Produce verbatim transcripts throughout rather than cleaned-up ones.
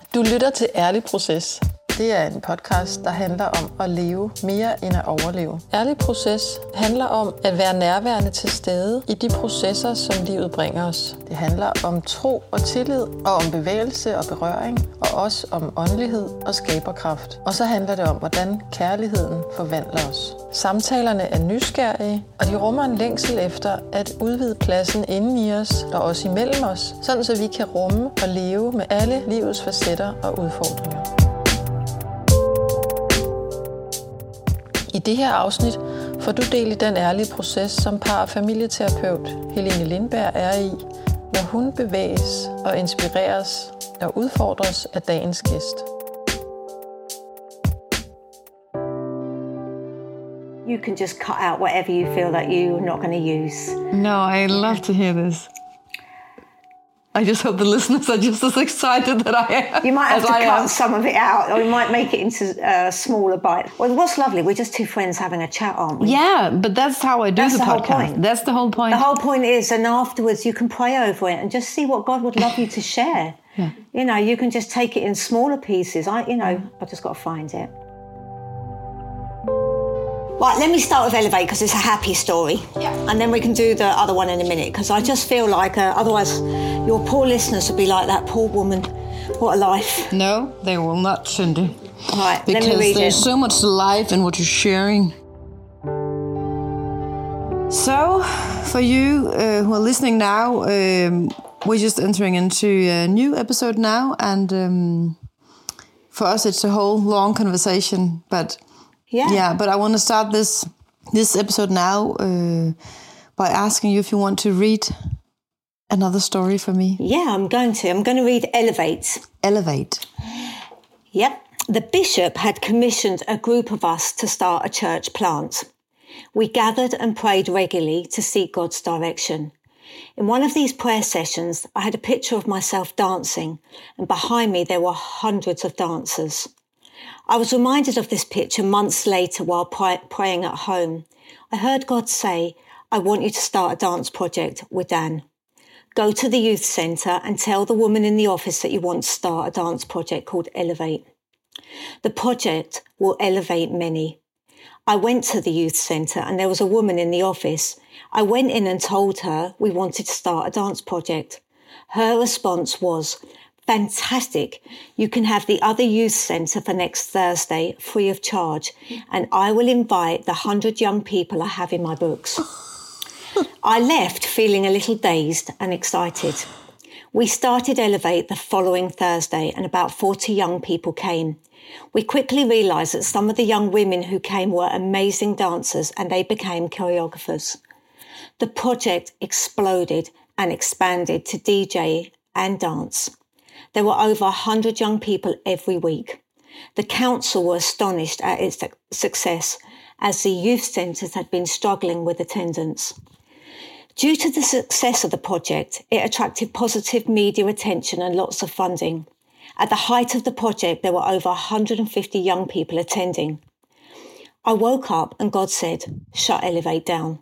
Du lytter til Ærlig Proces. Det er en podcast, der handler om at leve mere end at overleve. Ærlig Proces handler om at være nærværende til stede i de processer, som livet bringer os. Det handler om tro og tillid, og om bevægelse og berøring, og også om åndelighed og skaberkraft. Og så handler det om, hvordan kærligheden forvandler os. Samtalerne er nysgerrige, og de rummer en længsel efter at udvide pladsen inden i os og også imellem os, sådan så vi kan rumme og leve med alle livets facetter og udfordringer. I det her afsnit får du del i den ærlige proces, som par- og familieterapeut Helene Lindberg er i, når hun bevæges og inspireres og udfordres af dagens gæst. You can just cut out whatever you feel that you're not going to use. No, I love to hear this. I just hope the listeners are just as excited that I am. You might have to I cut am. some of it out, or you might make it into a smaller bite. Well, what's lovely, we're just two friends having a chat, aren't we? Yeah, but that's how I do That's the, the whole podcast. point. That's the whole point. The whole point is, and afterwards you can pray over it and just see what God would love you to share. Yeah. You know, you can just take it in smaller pieces. I, you know, I just got to find it. Right, let me start with Elevate because it's a happy story. Yeah. And then we can do the other one in a minute because I just feel like uh, otherwise your poor listeners would be like that poor woman. What a life. No, they will not, Cindy. Right, Because let me read there's it. so much life in what you're sharing. So, for you uh, who are listening now, um, we're just entering into a new episode now. And um, for us, it's a whole long conversation, but... Yeah. Yeah, but I want to start this this episode now uh, by asking you if you want to read another story for me. Yeah, I'm going to. I'm going to read Elevate. Elevate. Yep. The bishop had commissioned a group of us to start a church plant. We gathered and prayed regularly to seek God's direction. In one of these prayer sessions, I had a picture of myself dancing, and behind me there were hundreds of dancers. I was reminded of this picture months later while pray- praying at home. I heard God say, I want you to start a dance project with Dan. Go to the youth centre and tell the woman in the office that you want to start a dance project called Elevate. The project will elevate many. I went to the youth centre and there was a woman in the office. I went in and told her we wanted to start a dance project. Her response was, fantastic. You can have the other youth centre for next Thursday free of charge, and I will invite the hundred young people I have in my books. I left feeling a little dazed and excited. We started Elevate the following Thursday and about forty young people came. We quickly realised that some of the young women who came were amazing dancers and they became choreographers. The project exploded and expanded to D J and dance. There were over one hundred young people every week. The council were astonished at its success as the youth centres had been struggling with attendance. Due to the success of the project, it attracted positive media attention and lots of funding. At the height of the project, there were over one hundred fifty young people attending. I woke up and God said, shut Elevate down.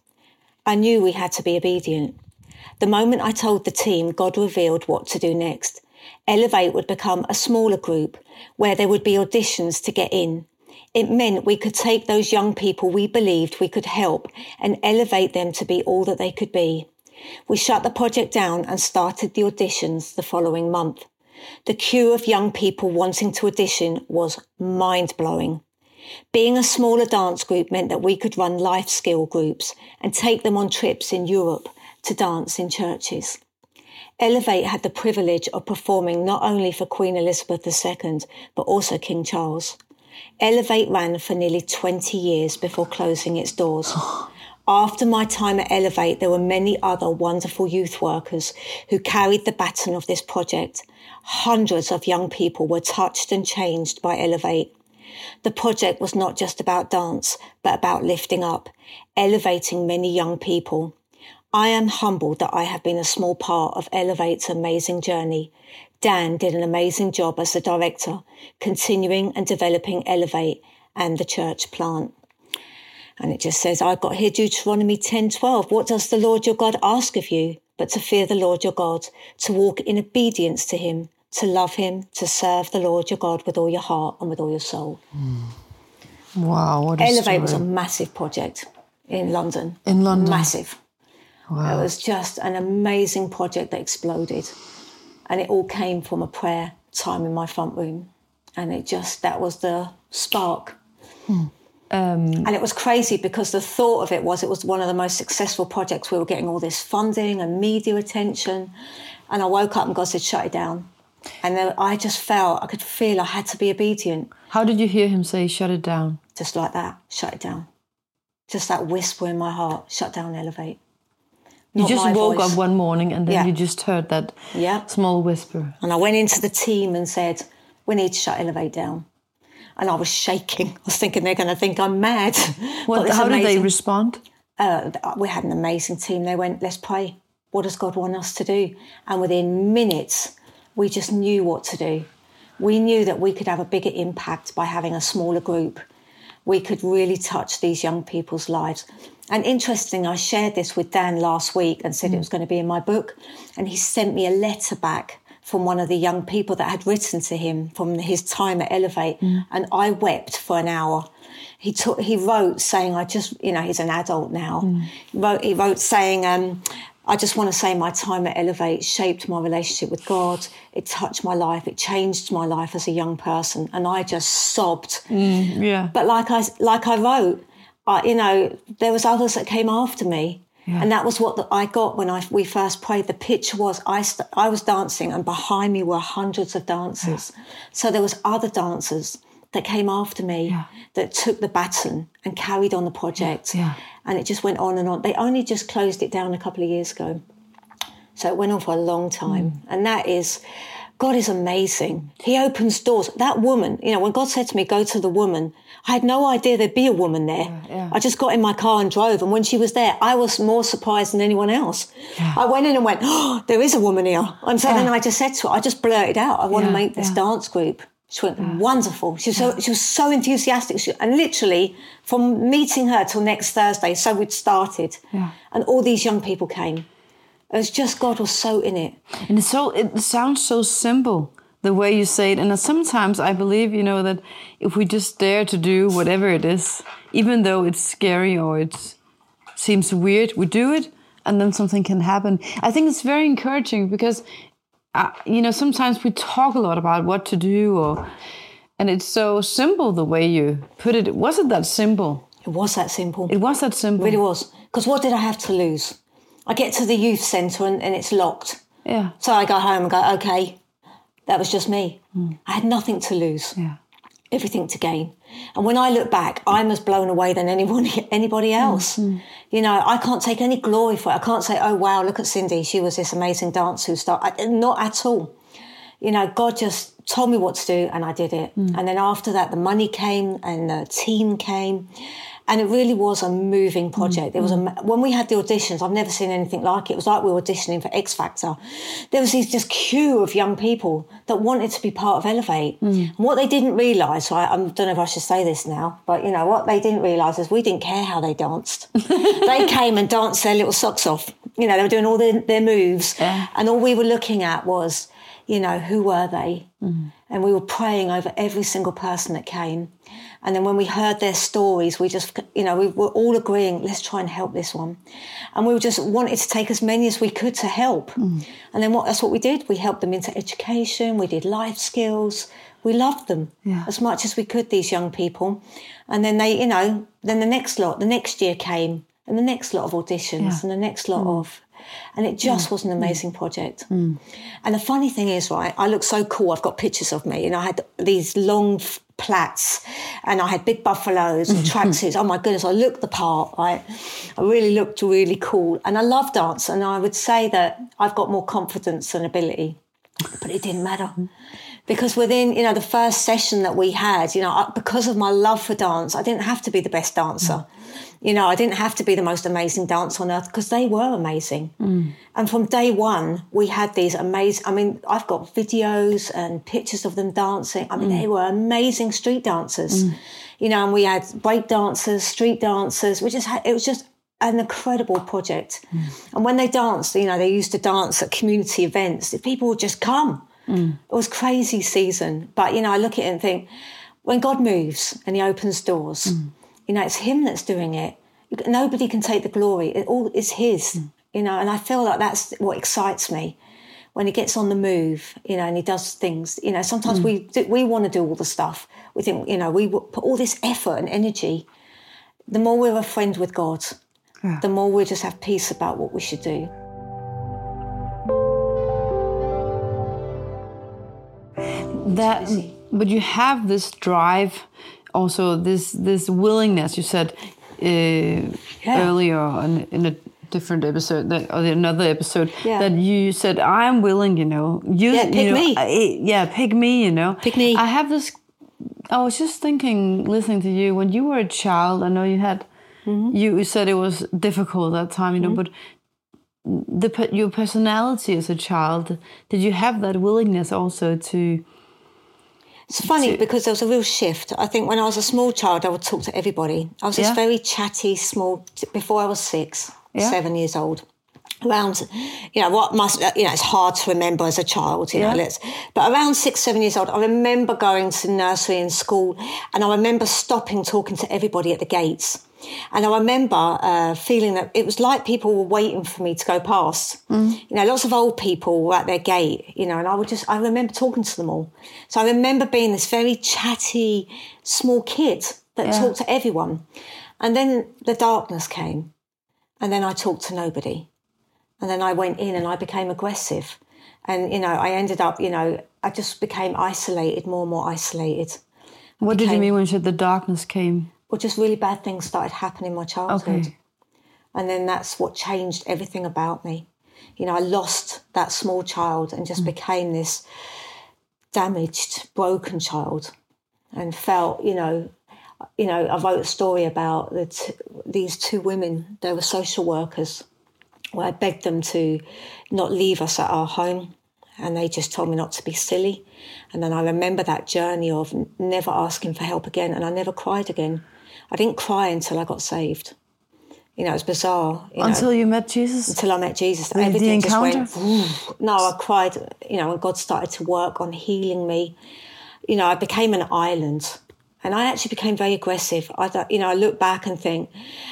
I knew we had to be obedient. The moment I told the team, God revealed what to do next. Elevate would become a smaller group where there would be auditions to get in. It meant we could take those young people we believed we could help and elevate them to be all that they could be. We shut the project down and started the auditions the following month. The queue of young people wanting to audition was mind-blowing. Being a smaller dance group meant that we could run life skill groups and take them on trips in Europe to dance in churches. Elevate had the privilege of performing not only for Queen Elizabeth the Second, but also King Charles. Elevate ran for nearly twenty years before closing its doors. After my time at Elevate, there were many other wonderful youth workers who carried the baton of this project. Hundreds of young people were touched and changed by Elevate. The project was not just about dance, but about lifting up, elevating many young people. I am humbled that I have been a small part of Elevate's amazing journey. Dan did an amazing job as the director, continuing and developing Elevate and the church plant. And it just says, I've got here Deuteronomy ten twelve. What does the Lord your God ask of you? But to fear the Lord your God, to walk in obedience to him, to love him, to serve the Lord your God with all your heart and with all your soul. Mm. Wow, what a Elevate story. was a massive project in London. In London? Massive. Wow. It was just an amazing project that exploded. And it all came from a prayer time in my front room. And it just, that was the spark. Hmm. Um, and it was crazy because the thought of it was it was one of the most successful projects. We were getting all this funding and media attention. And I woke up and God said, shut it down. And then I just felt, I could feel I had to be obedient. How did you hear him say, shut it down? Just like that, shut it down. Just that whisper in my heart, shut down, Elevate. You Not just my woke voice. up one morning and then Yeah. you just heard that Yeah. small whisper. And I went into the team and said, we need to shut Elevate down. And I was shaking. I was thinking they're going to think I'm mad. What, how did they respond? Uh, we had an amazing team. They went, let's pray. What does God want us to do? And within minutes, we just knew what to do. We knew that we could have a bigger impact by having a smaller group. We could really touch these young people's lives. And interesting, I shared this with Dan last week and said mm. it was going to be in my book. And he sent me a letter back from one of the young people that had written to him from his time at Elevate. Mm. And I wept for an hour. He took, he wrote saying, I just, you know, he's an adult now. Mm. He wrote, he wrote saying, um, I just want to say my time at Elevate shaped my relationship with God. It touched my life. It changed my life as a young person. And I just sobbed. Mm, yeah. But like I, like I wrote, I, you know, there was others that came after me. Yeah. And that was what the, I got when I we first prayed. The picture was I, st- I was dancing and behind me were hundreds of dancers. Yeah. So there was other dancers that came after me yeah. that took the baton and carried on the project. Yeah. Yeah. And it just went on and on. They only just closed it down a couple of years ago. So it went on for a long time. Mm. And that is, God is amazing. He opens doors. That woman, you know, when God said to me, go to the woman, I had no idea there'd be a woman there. Yeah, yeah. I just got in my car and drove. And when she was there, I was more surprised than anyone else. Yeah. I went in and went, oh, there is a woman here. And so yeah. then I just said to her, I just blurted out, I want yeah, to make this yeah. dance group. She went, yeah. wonderful. She was, yeah. so, she was so enthusiastic. She, and literally, from meeting her till next Thursday, so we'd started. Yeah. And all these young people came. It was just, God was so in it. And it's so, it sounds so simple, the way you say it. And sometimes I believe, you know, that if we just dare to do whatever it is, even though it's scary or it seems weird, we do it, and then something can happen. I think it's very encouraging because... Uh, you know, sometimes we talk a lot about what to do, or and it's so simple the way you put it. Was it that simple? It was that simple. It was that simple. It really was. Because what did I have to lose? I get to the youth centre and, and it's locked. Yeah. So I go home and go, okay, that was just me. Mm. I had nothing to lose. Yeah. Everything to gain. And when I look back, I'm as blown away than anyone, anybody else. Mm-hmm. You know, I can't take any glory for it. I can't say, oh, wow, look at Cindy. She was this amazing dancer who started. Not at all. You know, God just told me what to do and I did it. Mm. And then after that, the money came and the team came. And it really was a moving project. Mm. It was a, when we had the auditions, I've never seen anything like it. It was like we were auditioning for X Factor. There was this just queue of young people that wanted to be part of Elevate. Mm. And what they didn't realise, right, I don't know if I should say this now, but, you know, what they didn't realise is we didn't care how they danced. They came and danced their little socks off. You know, they were doing all their, their moves. Yeah. And all we were looking at was, you know, who were they? Mm. And we were praying over every single person that came. And then when we heard their stories, we just, you know, we were all agreeing, let's try and help this one. And we just wanted to take as many as we could to help. Mm. And then what, that's what we did. We helped them into education. We did life skills. We loved them yeah. as much as we could, these young people. And then they, you know, then the next lot, the next year came and the next lot of auditions yeah. and the next lot mm. of... And it just yeah. was an amazing mm. project. Mm. And the funny thing is, right, I look so cool. I've got pictures of me. And I had these long f- plaits and I had big buffaloes and tracksuits. Oh, my goodness, I looked the part, right? I really looked really cool. And I love dance. And I would say that I've got more confidence than ability. But it didn't matter. Because within, you know, the first session that we had, you know, because of my love for dance, I didn't have to be the best dancer. Mm. You know, I didn't have to be the most amazing dancer on earth because they were amazing. Mm. And from day one, we had these amazing, I mean, I've got videos and pictures of them dancing. I mean, mm. they were amazing street dancers. Mm. You know, and we had break dancers, street dancers. We just had, it was just an incredible project. Mm. And when they danced, you know, they used to dance at community events. People would just come. Mm. It was crazy season. But, you know, I look at it and think, when God moves and he opens doors, mm. you know, it's him that's doing it. Nobody can take the glory. It all is his, mm. you know, and I feel like that's what excites me. When he gets on the move, you know, and he does things, you know, sometimes mm. we do, we want to do all the stuff. We think, you know, we put all this effort and energy. The more we're a friend with God, yeah. the more we just have peace about what we should do. That, but you have this drive, also this this willingness. You said uh, yeah. earlier in, in a different episode, that, or another episode, yeah. that you said, "I'm willing." You know, you, yeah, pick you know, me. I, yeah, pick me. You know, pick me. I have this. I was just thinking, listening to you, when you were a child. I know you had. Mm-hmm. You said it was difficult that time. You know, mm-hmm. but the your personality as a child, did you have that willingness also to? It's funny because there was a real shift. I think when I was a small child, I would talk to everybody. I was this yeah. very chatty, small, before I was six, yeah. seven years old. Around, you know, what must, you know, it's hard to remember as a child, you yeah. know, let's, but around six, seven years old, I remember going to nursery and school, and I remember stopping talking to everybody at the gates. And I remember uh, feeling that it was like people were waiting for me to go past. Mm. You know, lots of old people were at their gate, you know, and I would just, I remember talking to them all. So I remember being this very chatty, small kid that yeah. talked to everyone. And then the darkness came, and then I talked to nobody. And then I went in and I became aggressive. And, you know, I ended up, you know, I just became isolated, more and more isolated. I what became, did you mean when you said the darkness came? Well, just really bad things started happening in my childhood. Okay. And then that's what changed everything about me. You know, I lost that small child and just mm. became this damaged, broken child, and felt, you know, you know, I wrote a story about the t- these two women. They were social workers, where I begged them to not leave us at our home, and they just told me not to be silly. And then I remember that journey of never asking for help again, and I never cried again. I didn't cry until I got saved. You know, it was bizarre. You until know, you met Jesus? Until I met Jesus. With Everything the just encounter? went, no, I cried, you know, when God started to work on healing me. You know, I became an island, and I actually became very aggressive. I, you know, I look back and think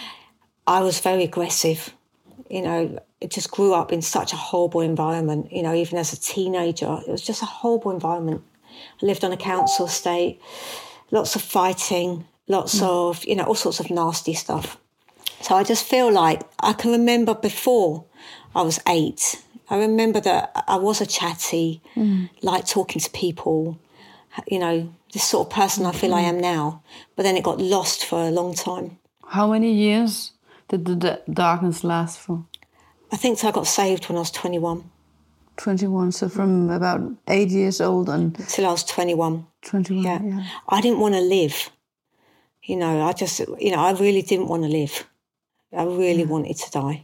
I was very aggressive. You know, it just grew up in such a horrible environment. You know, even as a teenager, it was just a horrible environment. I lived on a council estate, lots of fighting, lots mm. of, you know, all sorts of nasty stuff. So I just feel like I can remember before I was eight, I remember that I was a chatty, mm. like talking to people, you know, this sort of person I feel mm. I am now. But then it got lost for a long time. How many years did the d- darkness last for? I think so I got saved when I was twenty-one. twenty-one, so from about eight years old and... Until I was twenty-one. twenty-one, yeah. yeah. I didn't want to live. You know, I just, you know, I really didn't want to live. I really yeah. wanted to die.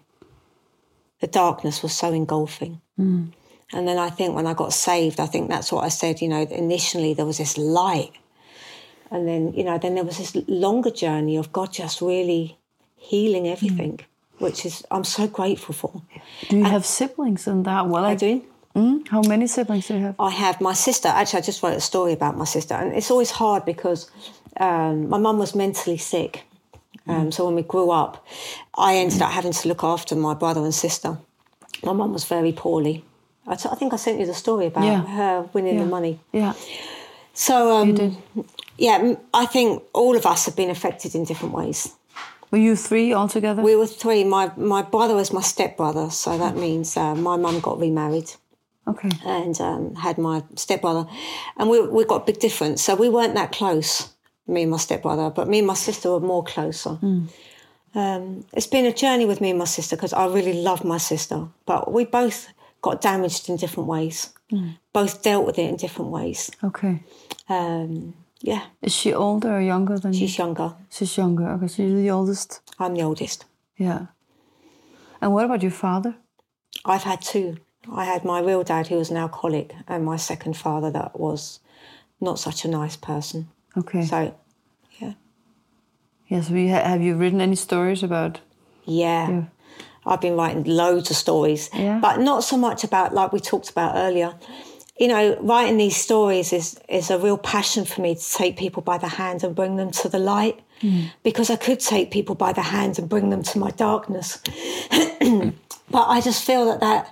The darkness was so engulfing. Mm. And then I think when I got saved, I think that's what I said, you know, initially there was this light. And then, you know, then there was this longer journey of God just really healing everything, mm. which is, I'm so grateful for. Do you and have siblings in that? Well, I, I do. Mm? How many siblings do you have? I have my sister. Actually, I just wrote a story about my sister. And it's always hard because um, my mum was mentally sick. Um, so when we grew up, I ended up having to look after my brother and sister. My mum was very poorly. I, t- I think I sent you the story about yeah. her winning yeah. the money. Yeah. So, um, you did. yeah, I think all of us have been affected in different ways. Were you three altogether? We were three. My my brother was my stepbrother, so that means uh, my mum got remarried. Okay. And um, had my stepbrother. And we we got a big difference. So we weren't that close, me and my stepbrother, but me and my sister were more closer. Mm. Um, it's been a journey with me and my sister because I really love my sister, but we both got damaged in different ways. Mm. Both dealt with it in different ways. Okay. Um, yeah. Is she older or younger than She's you? She's younger. She's younger. Okay, so you're the oldest? I'm the oldest. Yeah. And what about your father? I've had two. I had my real dad, who was an alcoholic, and my second father that was not such a nice person. Okay. So, yeah. Yeah, so you ha- have you written any stories about... Yeah. yeah. I've been writing loads of stories. Yeah. But not so much about, like we talked about earlier, you know, writing these stories is, is a real passion for me, to take people by the hand and bring them to the light. Mm. Because I could take people by the hand and bring them to my darkness. But I just feel that, that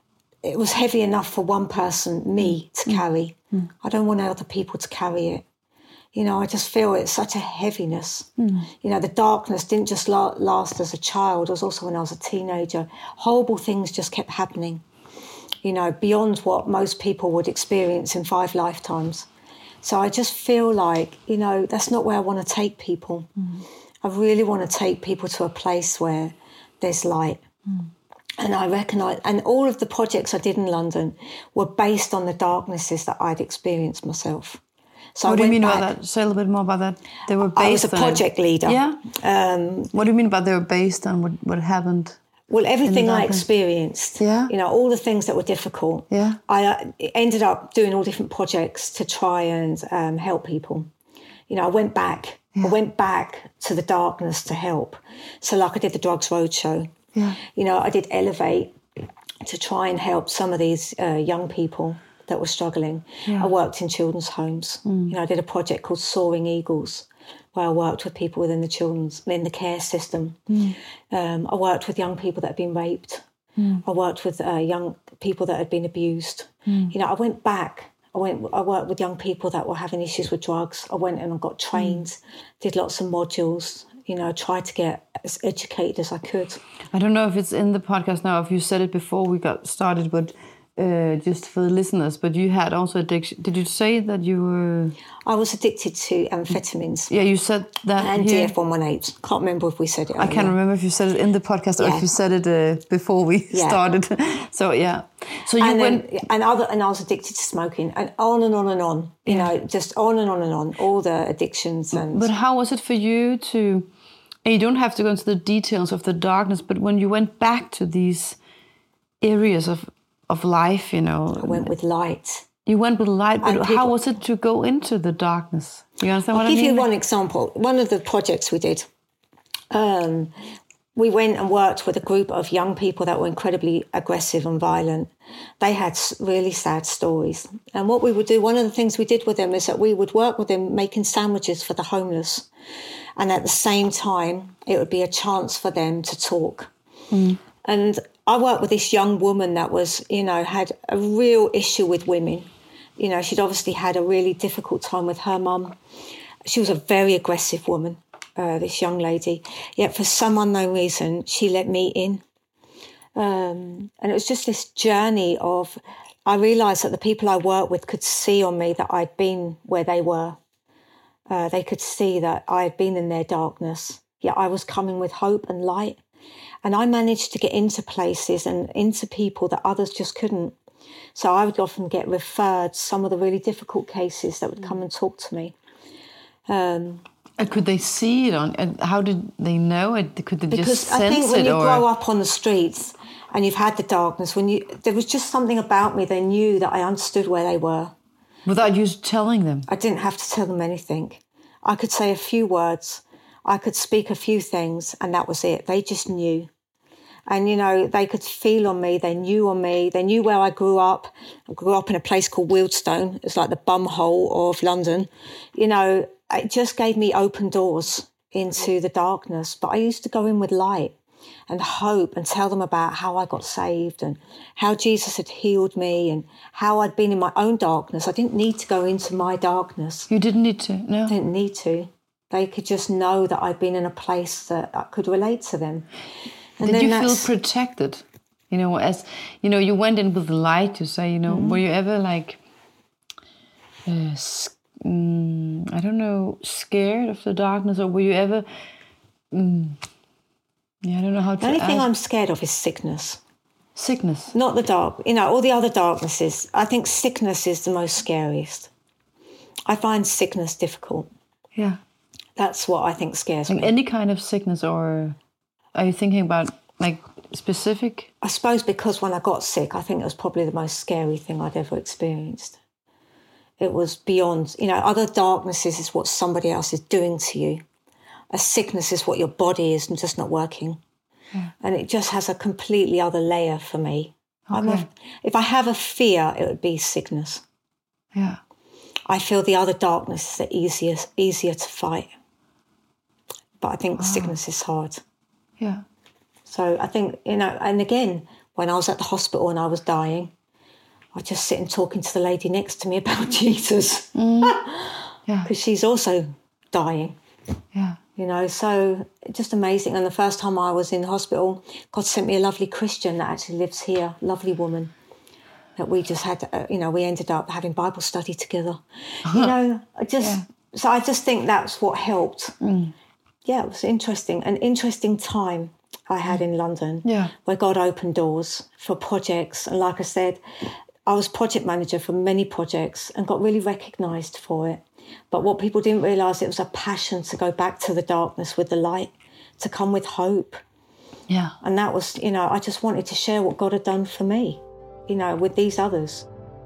it was heavy enough for one person, me, to mm. carry. Mm. I don't want other people to carry it. You know, I just feel it's such a heaviness. Mm. You know, the darkness didn't just la- last as a child. It was also when I was a teenager. Horrible things just kept happening, you know, beyond what most people would experience in five lifetimes. So I just feel like, you know, that's not where I want to take people. Mm. I really want to take people to a place where there's light. Mm. And I recognise, and all of the projects I did in London were based on the darknesses that I'd experienced myself. So what I do you mean back, about that? Say a little bit more about that. They were based I was a project on, leader. Yeah. Um, what do you mean about they were based on what, what happened? Well, everything I experienced. Yeah. You know, all the things that were difficult. Yeah. I uh, ended up doing all different projects to try and um, help people. You know, I went back. Yeah. I went back to the darkness to help. So, like I did the Drugs Roadshow. Yeah. You know, I did Elevate to try and help some of these uh, young people that were struggling. Yeah. I worked in children's homes. Mm. You know, I did a project called Soaring Eagles, where I worked with people within the children's, in the care system. Mm. Um, I worked with young people that had been raped. Mm. I worked with uh, young people that had been abused. Mm. You know, I went back. I went. I worked with young people that were having issues with drugs. I went and I got trained, mm. did lots of modules. You know, tried to get as educated as I could. I don't know if it's in the podcast now, if you said it before we got started, but uh, just for the listeners, but you had also addiction. Did you say that you were... I was addicted to amphetamines. Yeah, you said that And here. D F one eighteen. Can't remember if we said it I can't remember if you said it in the podcast or yeah. if you said it uh, before we yeah. started. So, yeah. So you and went... Then, and, other, and I was addicted to smoking, and on and on and on. You yeah. know, just on and on and on. All the addictions. And. But how was it for you to... And you don't have to go into the details of the darkness, but when you went back to these areas of, of life, you know... I went with light. You went with light, but people, how was it to go into the darkness? You understand I'll what I mean? I'll give you one example. One of the projects we did, um, we went and worked with a group of young people that were incredibly aggressive and violent. They had really sad stories. And what we would do, one of the things we did with them is that we would work with them making sandwiches for the homeless. And at the same time, it would be a chance for them to talk. Mm. And I worked with this young woman that was, you know, had a real issue with women. You know, she'd obviously had a really difficult time with her mum. She was a very aggressive woman, uh, this young lady. Yet for some unknown reason, she let me in. Um, and it was just this journey of, I realised that the people I worked with could see on me that I'd been where they were. Uh, they could see that I had been in their darkness, yet I was coming with hope and light. And I managed to get into places and into people that others just couldn't. So I would often get referred some of the really difficult cases that would come and talk to me. Um, and could they see it on? And how did they know it? Could they because just sense it? I think when you or? grow up on the streets and you've had the darkness, when you there was just something about me. They knew that I understood where they were. Without you telling them? I didn't have to tell them anything. I could say a few words. I could speak a few things, and that was it. They just knew. And, you know, they could feel on me. They knew on me. They knew where I grew up. I grew up in a place called Wealdstone. It's like the bum hole of London. You know, it just gave me open doors into the darkness. But I used to go in with light and hope and tell them about how I got saved and how Jesus had healed me and how I'd been in my own darkness. I didn't need to go into my darkness. You didn't need to, no? I didn't need to. They could just know that I'd been in a place that I could relate to them. And Did you feel protected? You know, as, you know, you went in with the light, you say, you know, mm-hmm. were you ever like, uh, um, I don't know, scared of the darkness, or were you ever... Um, Yeah, I don't know how to. The only ask. thing I'm scared of is sickness. Sickness? Not the dark. You know, all the other darknesses. I think sickness is the most scariest. I find sickness difficult. Yeah. That's what I think scares like me. Any kind of sickness, or are you thinking about, like, specific? I suppose because when I got sick, I think it was probably the most scary thing I'd ever experienced. It was beyond, you know, other darknesses is what somebody else is doing to you. A sickness is what your body is just not working. Yeah. And it just has a completely other layer for me. I'm a, if I have a fear, it would be sickness. Yeah. I feel the other darkness is the easiest, easier to fight. But I think the sickness is hard. Yeah. So I think, you know, and again, when I was at the hospital and I was dying, I just sit and talking to the lady next to me about Jesus. Mm. Yeah. Because she's also dying. Yeah. You know, so just amazing. And the first time I was in the hospital, God sent me a lovely Christian that actually lives here, lovely woman, that we just had, uh, you know, we ended up having Bible study together. You know, I just, yeah. so I just think that's what helped. Mm. Yeah, it was interesting, an interesting time I had in London, yeah. where God opened doors for projects. And like I said, I was project manager for many projects and got really recognised for it. But what people didn't realise, it was a passion to go back to the darkness with the light, to come with hope. Yeah. And that was, you know, I just wanted to share what God had done for me, you know, with these others.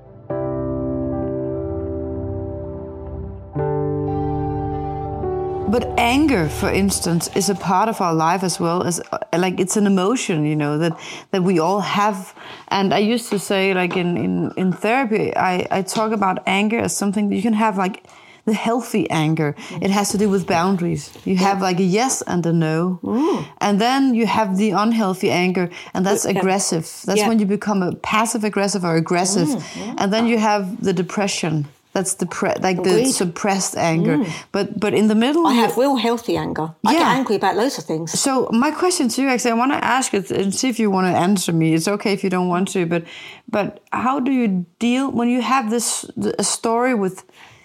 But anger, for instance, is a part of our life as well as, like, it's an emotion, you know, that, that we all have. And I used to say, like, in, in, in therapy, I, I talk about anger as something that you can have, like, the healthy anger. It has to do with boundaries. You have, like, a yes and a no. Mm. And then you have the unhealthy anger, and that's yeah. aggressive. That's yeah. when you become a passive-aggressive or aggressive. Mm, yeah. And then you have the depression. That's the pre- like Agreed. the suppressed anger, mm. but but in the middle, I have real healthy anger. I yeah. get angry about loads of things. So my question to you, actually, I want to ask it and see if you want to answer me. It's okay if you don't want to, but but how do you deal when you have this a story with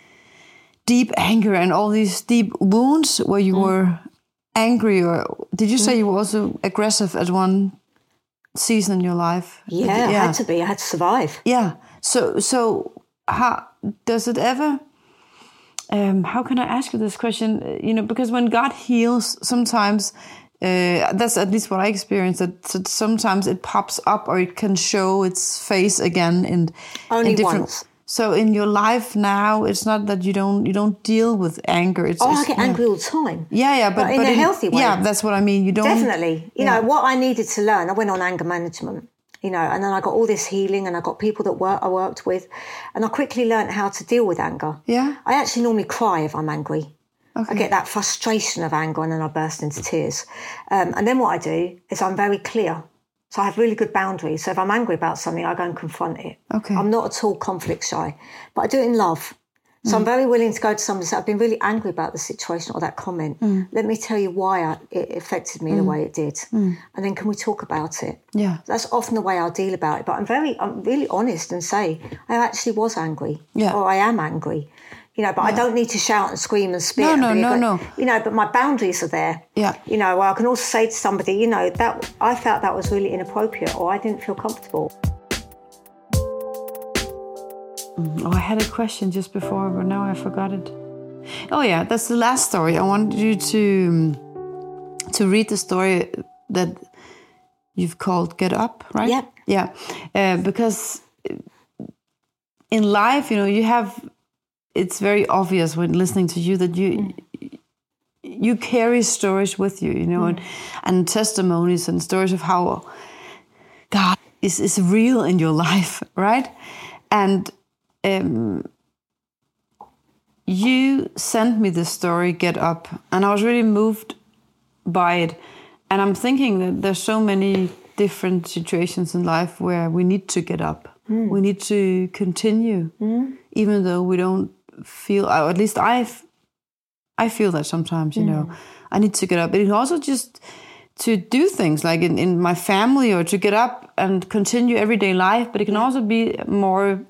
deep anger and all these deep wounds where you mm. were angry, or did you say mm. you were also aggressive at one season in your life? Yeah, yeah, I had to be. I had to survive. Yeah. So so. How does it ever, um, how can I ask you this question? You know, because when God heals, sometimes, uh, that's at least what I experienced, that, that sometimes it pops up or it can show its face again in, Only in different... once. So in your life now, it's not that you don't you don't deal with anger. It's, oh, it's, I get yeah. angry all the time. Yeah, yeah, but, but in but a in, healthy way. Yeah, that's what I mean. You don't... Definitely. You yeah. know, what I needed to learn, I went on anger management. You know, and then I got all this healing and I got people that work, I worked with, and I quickly learned how to deal with anger. Yeah. I actually normally cry if I'm angry. Okay. I get that frustration of anger and then I burst into tears. Um, and then what I do is I'm very clear. So I have really good boundaries. So if I'm angry about something, I go and confront it. Okay. I'm not at all conflict shy, but I do it in love. So mm. I'm very willing to go to somebody and say, I've been really angry about the situation or that comment. Mm. Let me tell you why I, it affected me mm. the way it did. Mm. And then can we talk about it? Yeah. That's often the way I deal about it. But I'm very, I'm really honest and say, I actually was angry. Yeah. Or I am angry. You know, but yeah. I don't need to shout and scream and spit. No, and no, no, ag- no. You know, but my boundaries are there. Yeah. You know, well, I can also say to somebody, you know, that I felt that was really inappropriate or I didn't feel comfortable. Oh, I had a question just before, but now I forgot it. Oh yeah, that's the last story. I want you to to read the story that you've called "Get Up," right? Yeah. Yeah, uh, because in life, you know, you have. It's very obvious when listening to you that you mm. you carry stories with you, you know, mm. and, and testimonies and stories of how God is is real in your life, right? And Um, you sent me this story, Get Up, and I was really moved by it. And I'm thinking that there's so many different situations in life where we need to get up. Mm. We need to continue, mm. even though we don't feel, or at least I, I feel that sometimes, you mm. know, I need to get up. But it also just to do things like in, in my family, or to get up and continue everyday life. But it can also be more...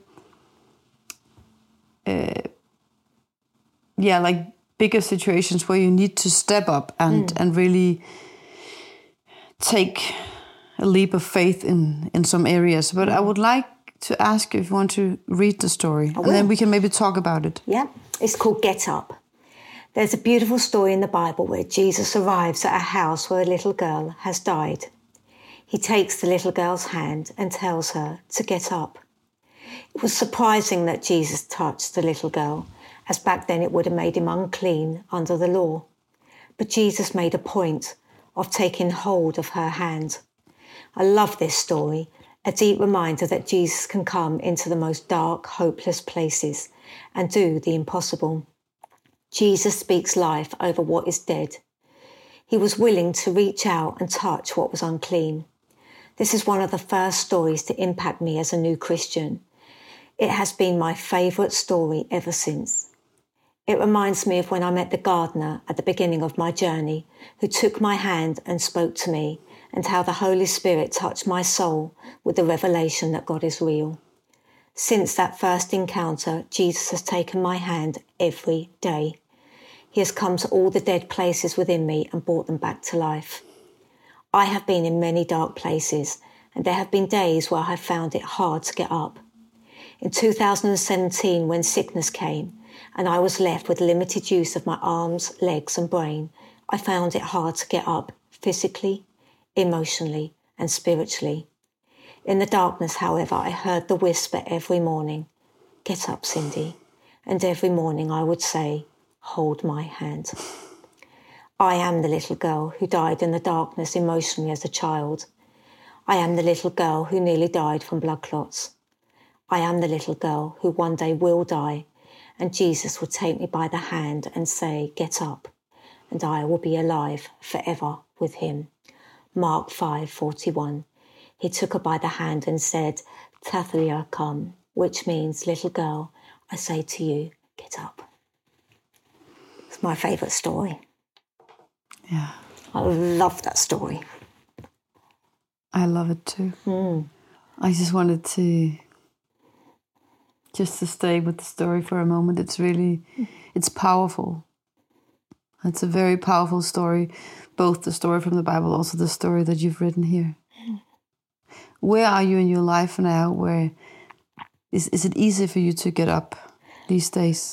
Uh, yeah, like bigger situations where you need to step up and, mm. and really take a leap of faith in, in some areas. But mm. I would like to ask you if you want to read the story, and then we can maybe talk about it. Yeah, it's called Get Up. There's a beautiful story in the Bible where Jesus arrives at a house where a little girl has died. He takes the little girl's hand and tells her to get up. It was surprising that Jesus touched the little girl, as back then it would have made him unclean under the law. But Jesus made a point of taking hold of her hand. I love this story A deep reminder that Jesus can come into the most dark, hopeless places and do the impossible. Jesus speaks life over what is dead. He was willing to reach out and touch what was unclean. This is one of the first stories to impact me as a new Christian. It has been my favourite story ever since. It reminds me of when I met the gardener at the beginning of my journey, who took my hand and spoke to me, and how the Holy Spirit touched my soul with the revelation that God is real. Since that first encounter, Jesus has taken my hand every day. He has come to all the dead places within me and brought them back to life. I have been in many dark places, and there have been days where I have found it hard to get up. In two thousand seventeen, when sickness came, and I was left with limited use of my arms, legs and brain, I found it hard to get up physically, emotionally and spiritually. In the darkness, however, I heard the whisper every morning, "Get up, Cindy." And every morning I would say, "Hold my hand." I am the little girl who died in the darkness emotionally as a child. I am the little girl who nearly died from blood clots. I am the little girl who one day will die, and Jesus would take me by the hand and say, "Get up," and I will be alive forever with him. Mark five forty-one. He took her by the hand and said, "Talitha come," which means, "Little girl, I say to you, get up." It's my favourite story. Yeah. I love that story. I love it too. Mm. I just wanted to just to stay with the story for a moment. It's really, it's powerful. It's a very powerful story, both the story from the Bible, also the story that you've written here. Mm. Where are you in your life now? Where is is it easy for you to get up these days?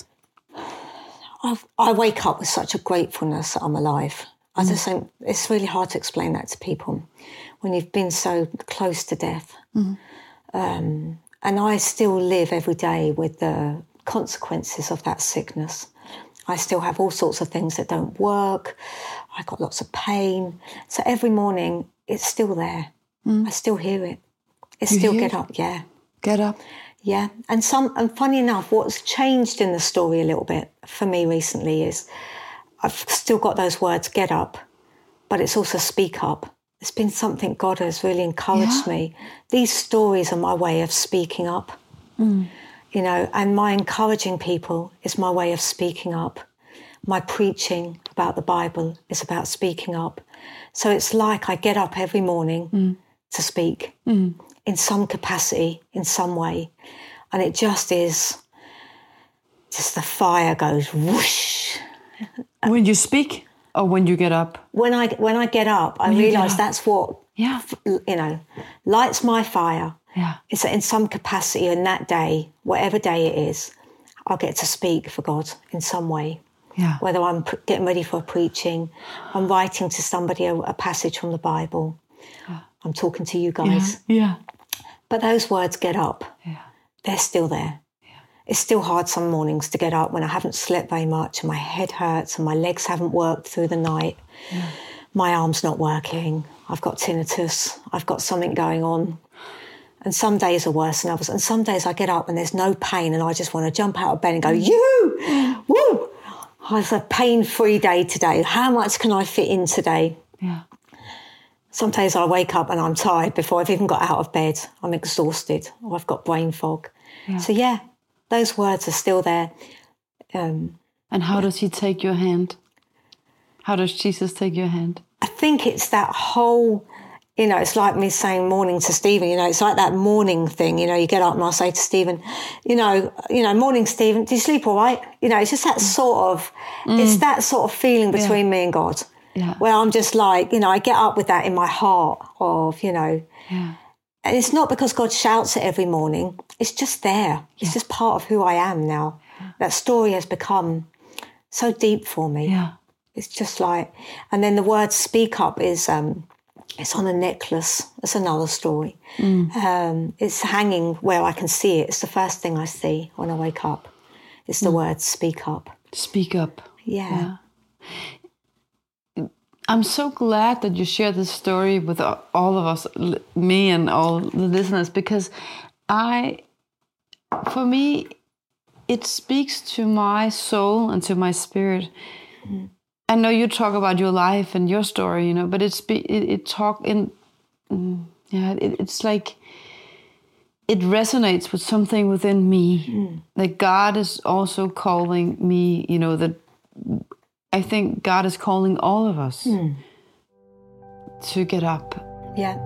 I've, I wake up with such a gratefulness that I'm alive. I Mm. just think it's really hard to explain that to people when you've been so close to death. Mm. Um, and I still live every day with the consequences of that sickness. I still have all sorts of things that don't work. I got lots of pain. So every morning, it's still there. Mm. I still hear it. It's you still hear get it? up, yeah. Get up. Yeah. And some, and funny enough, what's changed in the story a little bit for me recently is I've still got those words, get up, but it's also speak up. It's been something God has really encouraged Yeah. me. These stories are my way of speaking up. Mm. You know, and my encouraging people is my way of speaking up. My preaching about the Bible is about speaking up. So it's like I get up every morning mm. to speak mm. in some capacity, in some way. And it just is, just the fire goes whoosh. When you speak or when you get up? When I, when I get up, I When you get realise up. that's what, Yeah. you know, lights my fire. Yeah. It's in some capacity in that day, whatever day it is, I'll get to speak for God in some way. Yeah. Whether I'm pr- getting ready for a preaching, I'm writing to somebody a, a passage from the Bible, yeah. I'm talking to you guys. Yeah. yeah. But those words, get up, yeah. they're still there. Yeah. It's still hard some mornings to get up when I haven't slept very much and my head hurts and my legs haven't worked through the night. Yeah. My arm's not working. I've got tinnitus. I've got something going on. And some days are worse than others. And some days I get up and there's no pain and I just want to jump out of bed and go, you, woo! It's a pain-free day today. How much can I fit in today? Yeah. Some days I wake up and I'm tired before I've even got out of bed. I'm exhausted or I've got brain fog. Yeah. So, yeah, those words are still there. Um, and how does he take your hand? How does Jesus take your hand? I think it's that whole... You know, it's like me saying morning to Stephen, you know, it's like that morning thing, you know, you get up and I say to Stephen, you know, you know, morning, Stephen, do you sleep all right? You know, it's just that sort of, mm. it's that sort of feeling between yeah. me and God, yeah. where I'm just like, you know, I get up with that in my heart of, you know, yeah. and it's not because God shouts it every morning, it's just there. It's yeah. just part of who I am now. Yeah. That story has become so deep for me. Yeah. It's just like, and then the word speak up is, um, it's on a necklace. It's another story. Mm. Um, it's hanging where I can see it. It's the first thing I see when I wake up. It's the mm. word speak up. Speak up. Yeah. yeah. I'm so glad that you share this story with all of us, me and all the listeners, because I, for me, it speaks to my soul and to my spirit. Mm. I know you talk about your life and your story, you know, but it's it, it talk in, yeah, it, it's like it resonates with something within me. Mm. That God is also calling me, you know, that I think God is calling all of us mm. to get up. Yeah.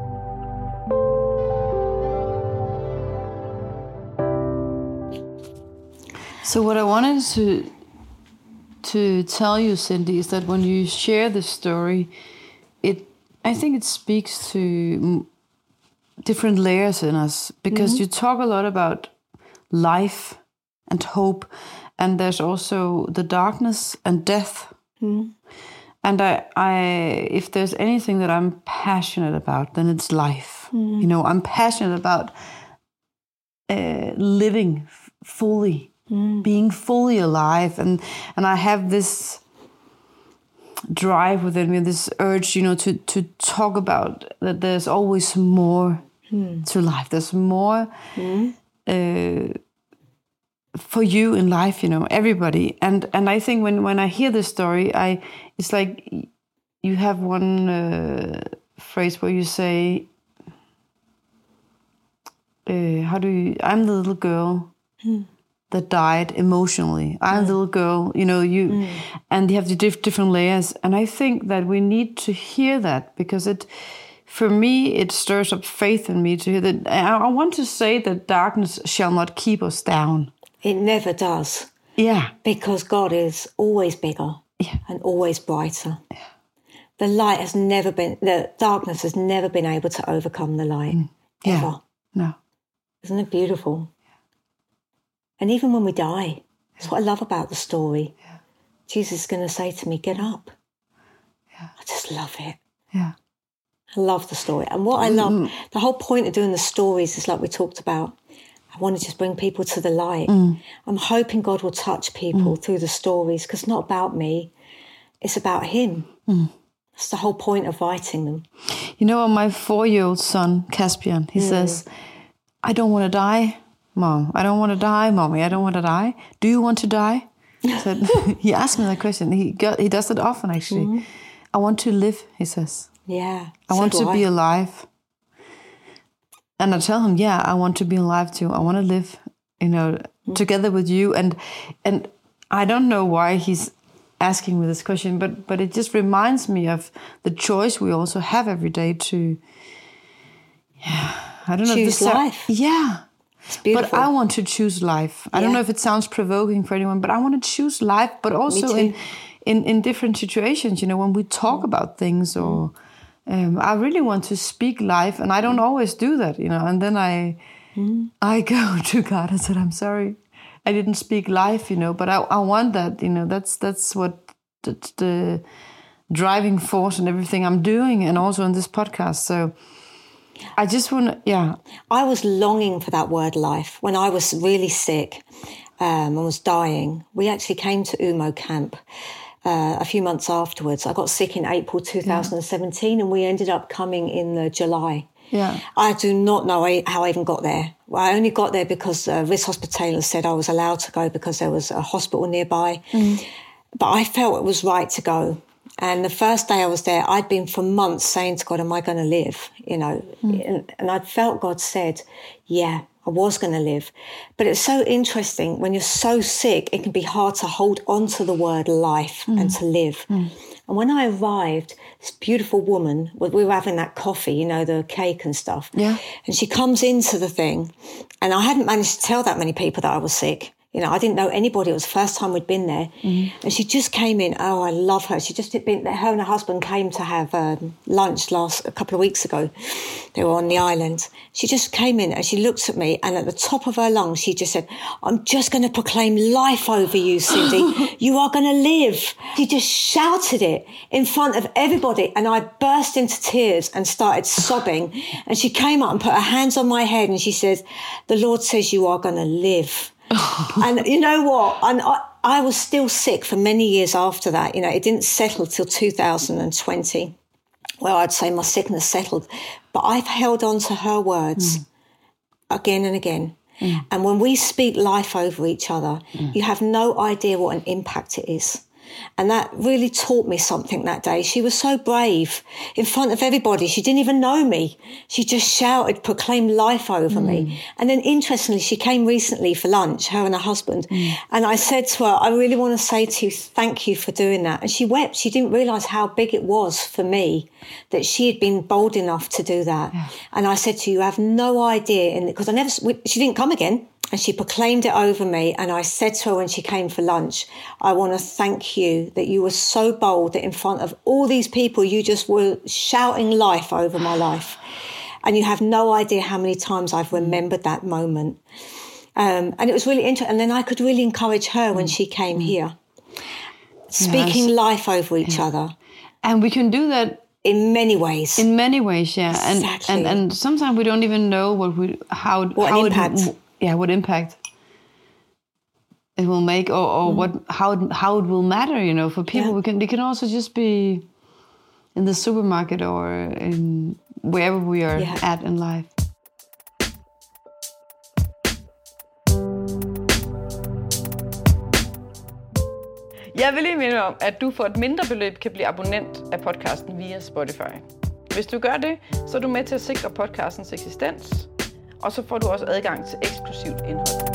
So what I wanted to to tell you, Cindy, is that when you share this story, it I think it speaks to different layers in us, because mm-hmm. you talk a lot about life and hope, and there's also the darkness and death. Mm. And I, I, if there's anything that I'm passionate about, then it's life. Mm. You know, I'm passionate about uh, living f- fully, mm. being fully alive, and and I have this drive within me, this urge, you know, to to talk about that. There's always more mm. to life. There's more. Mm. Uh, for you in life, you know, everybody. And and I think when, when I hear this story, I it's like you have one uh, phrase where you say, uh, how do you, I'm the little girl mm. that died emotionally. I'm mm. the little girl, you know, you, mm. and you have the diff- different layers. And I think that we need to hear that, because it, for me, it stirs up faith in me to hear that. I, I want to say that darkness shall not keep us down. It never does. Yeah. Because God is always bigger yeah. and always brighter. Yeah. The light has never been, the darkness has never been able to overcome the light. Mm. Yeah. Ever. No. Isn't it beautiful? Yeah. And even when we die, that's what I love about the story. Yeah. Jesus is going to say to me, get up. Yeah. I just love it. Yeah. I love the story. And what I love, mm. the whole point of doing the stories is like we talked about, I want to just bring people to the light. Mm. I'm hoping God will touch people mm. through the stories, because it's not about me. It's about him. Mm. That's the whole point of writing them. You know, my four-year-old son, Caspian, he mm. says, I don't want to die, Mom. I don't want to die, Mommy. I don't want to die. Do you want to die? So he asked me that question. He got, he does it often, actually. Mm. I want to live, he says. Yeah. I so want to I. be alive. And I tell him, yeah, I want to be alive too. I want to live, you know, mm. together with you. And and I don't know why he's asking me this question, but but it just reminds me of the choice we also have every day to, yeah, I don't know. Choose if life. Yeah. It's beautiful. But I want to choose life. I yeah. don't know if it sounds provoking for anyone, but I want to choose life, but also in, in, in different situations, you know, when we talk mm. about things or... Mm. Um, I really want to speak life, and I don't always do that, you know. And then I, mm. I go to God and said, "I'm sorry, I didn't speak life, you know. But I, I want that, you know. That's that's what the, the driving force and everything I'm doing, and also in this podcast. So I just want to, yeah. I was longing for that word life when I was really sick um, and was dying. We actually came to Umo camp. Uh, a few months afterwards. I got sick in April two thousand seventeen yeah. and we ended up coming in the July. Yeah. I do not know how I even got there. I only got there because uh, Ris Hospitaler said I was allowed to go because there was a hospital nearby. Mm. But I felt it was right to go. And the first day I was there, I'd been for months saying to God, am I going to live? You know, mm. and, and I'd felt God said, yeah, I was going to live. But it's so interesting. When you're so sick, it can be hard to hold on to the word life mm. and to live. Mm. And when I arrived, this beautiful woman, we were having that coffee, you know, the cake and stuff. Yeah. And she comes into the thing. And I hadn't managed to tell that many people that I was sick. You know, I didn't know anybody. It was the first time we'd been there. Mm-hmm. And she just came in. Oh, I love her. She just had been, her and her husband came to have um, lunch last, a couple of weeks ago. They were on the island. She just came in and she looked at me, and at the top of her lungs, she just said, I'm just going to proclaim life over you, Cindy. You are going to live. She just shouted it in front of everybody. And I burst into tears and started sobbing. And she came up and put her hands on my head and she said, the Lord says you are going to live. And you know what? And I, I was still sick for many years after that. You know, it didn't settle till two thousand twenty, where I'd say my sickness settled. But I've held on to her words mm. again and again. Mm. And when we speak life over each other, mm. you have no idea what an impact it is. And that really taught me something that day. She was so brave in front of everybody. She didn't even know me. She just shouted, proclaimed life over mm. me. And then interestingly, she came recently for lunch, her and her husband. Mm. And I said to her, I really want to say to you, thank you for doing that. And she wept. She didn't realise how big it was for me that she had been bold enough to do that. Yeah. And I said to you, you have no idea. Because I never, she didn't come again. And she proclaimed it over me. And I said to her when she came for lunch, I want to thank you that you were so bold that in front of all these people, you just were shouting life over my life. And you have no idea how many times I've remembered that moment. Um, and it was really interesting. And then I could really encourage her when she came here, speaking yes. life over each yeah. other. And we can do that in many ways. In many ways, yeah. Exactly. And, and and sometimes we don't even know what we how what how impact. It, yeah, what impact it will make, or, or mm. what how it, how it will matter. You know, for people, yeah. we can. It can also just be in the supermarket or in wherever we are yeah. at in life. Jeg vil lige minde om, at du for et mindre beløb kan blive abonnent af podcasten via Spotify. Hvis du gør det, så er du med til at sikre podcastens eksistens, og så får du også adgang til eksklusivt indhold.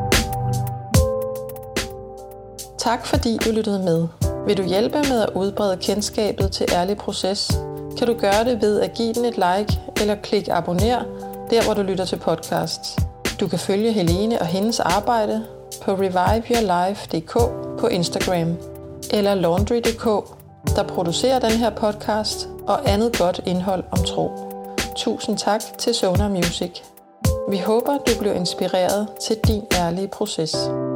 Tak fordi du lyttede med. Vil du hjælpe med at udbrede kendskabet til Ærlig Proces, kan du gøre det ved at give den et like eller klik abonner, der hvor du lytter til podcasts. Du kan følge Helene og hendes arbejde på revive your life punktum d k på Instagram, eller laundry punktum d k, der producerer den her podcast og andet godt indhold om tro. Tusind tak til Sonar Music. Vi håber, du blev inspireret til din ærlige proces.